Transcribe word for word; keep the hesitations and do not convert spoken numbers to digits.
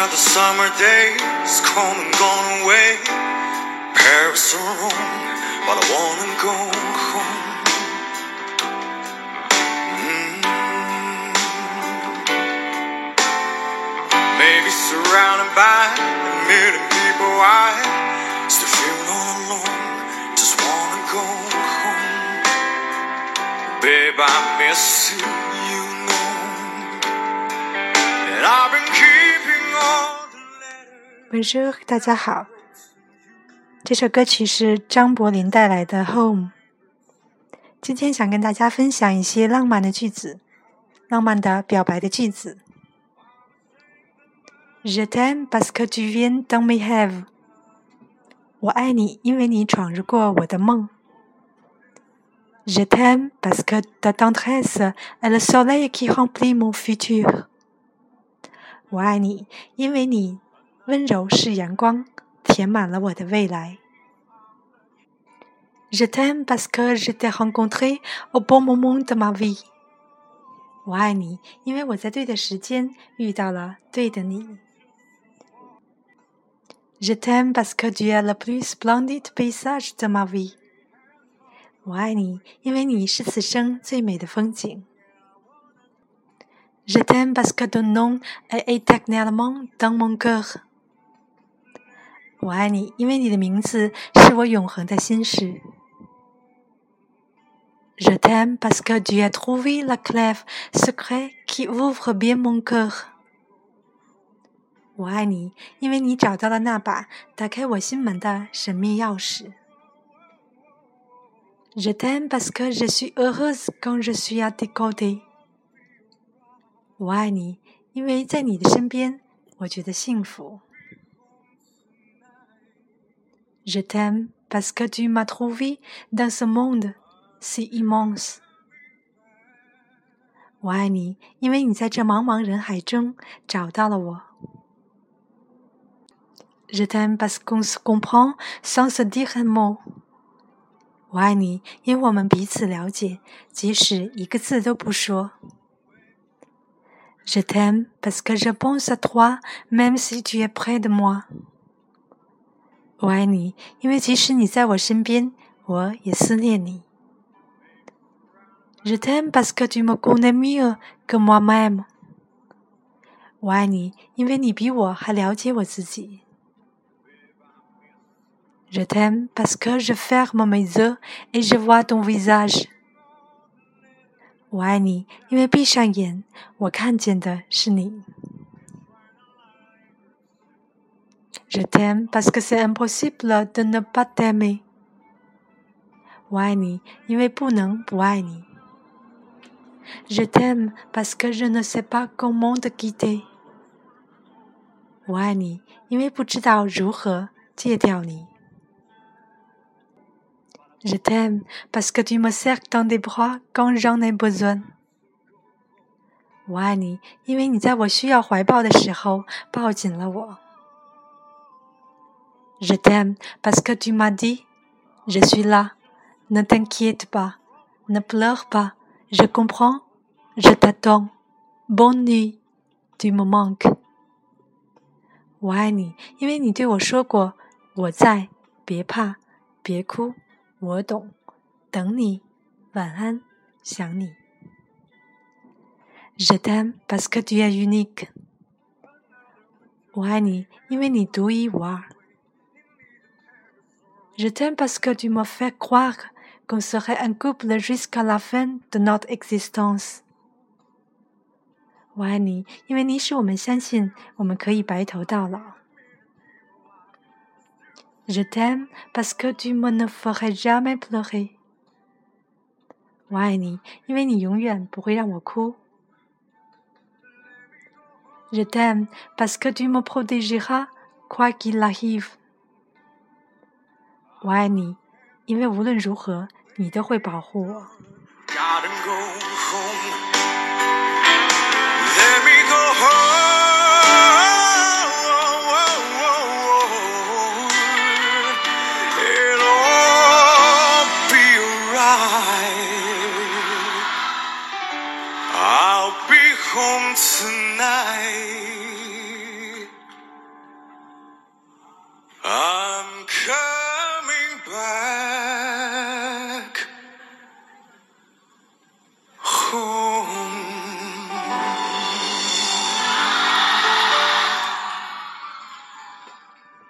the summer days come and gone away, Paris or Rome, but I wanna go home. Mm. Maybe surrounded by a million people, I still feel all alone, just wanna go home. Babe, I miss you, you know, and I've been keeping all the letters. Bonjour， 大家好。这首歌曲是张柏林带来的《Home》。今天想跟大家分享一些浪漫的句子，浪漫的表白的句子。Je t'aime parce que tu viens dans mes rêves。我爱你，因为你闯入过我的梦。Je t'aime parce que ta tendresse est le soleil qui remplit mon futur。我爱你，因为你温柔是阳光，填满了我的未来。Je t'aime parce que je t'ai rencontré au bon moment de ma vie。我爱你，因为我在对的时间遇到了对的你。Je t'aime parce que tu es le plus splendide paysage de ma vie。我爱你，因为你是此生最美的风景。Je t'aime parce que ton nom est éternellement dans mon cœur。我爱你，因为你的名字是我永恒的心事。Je t'aime parce que tu as trouvé la clé secrète qui ouvre bien mon cœur。我爱你，因为你找到了那把打开我心门的神秘钥匙。Je t'aime parce que je suis heureuse quand je suis à tes côtés。我爱你，因为在你的身边，我觉得幸福。Je t'aime parce que tu m'as trouvé dans ce monde si immense。我爱你，因为你在这茫茫人海中找到了我。Je t'aime parce qu'on se comprend sans se dire un mot。我爱你，因为我们彼此了解，即使一个字都不说。Je t'aime parce que je pense à toi même si tu es près de moi。我爱你，因为即使你在我身边，我也思念你。Je t'aime parce que tu me connais mieux que moi-même。我爱你，因为你比我还了解我自己。Je t'aime parce que je ferme mes yeux et je vois ton visage。我爱你，因为闭上眼，我看见的是你。Je t'aime parce que c'est impossible de ne pas t'aimer。我爱你，因为不能不爱你。Je t'aime parce que je ne sais pas comment te quitter。我爱你，因为不知道如何戒掉你。Je t'aime parce que tu me serres dans tes bras quand j'en ai besoin。我爱你，因为你在我需要怀抱的时候抱紧了我。Je t'aime parce que tu m'as dit Je suis là, ne t'inquiète pas, ne pleure pas, je comprends, je t'attends, bonne nuit, tu me manques。我爱你，因为你对我说过我在，别怕，别哭，我懂，等你，晚安，想你。Je t'aime parce que tu es unique。我爱你，因为你独一无二。Je t'aime parce que tu me fais croire qu'on serait un couple jusqu'à la fin de notre existence。我爱你，因为你使我们相信我们可以白头到老。Je t'aime parce que tu me ne ferais jamais pleurer。我爱你，因为你永远不会让我哭。Je t'aime parce que tu me protégeras quoi qu'il arrive。我爱你，因为无论如何，你都会保护我。 I'll be home tonight. home.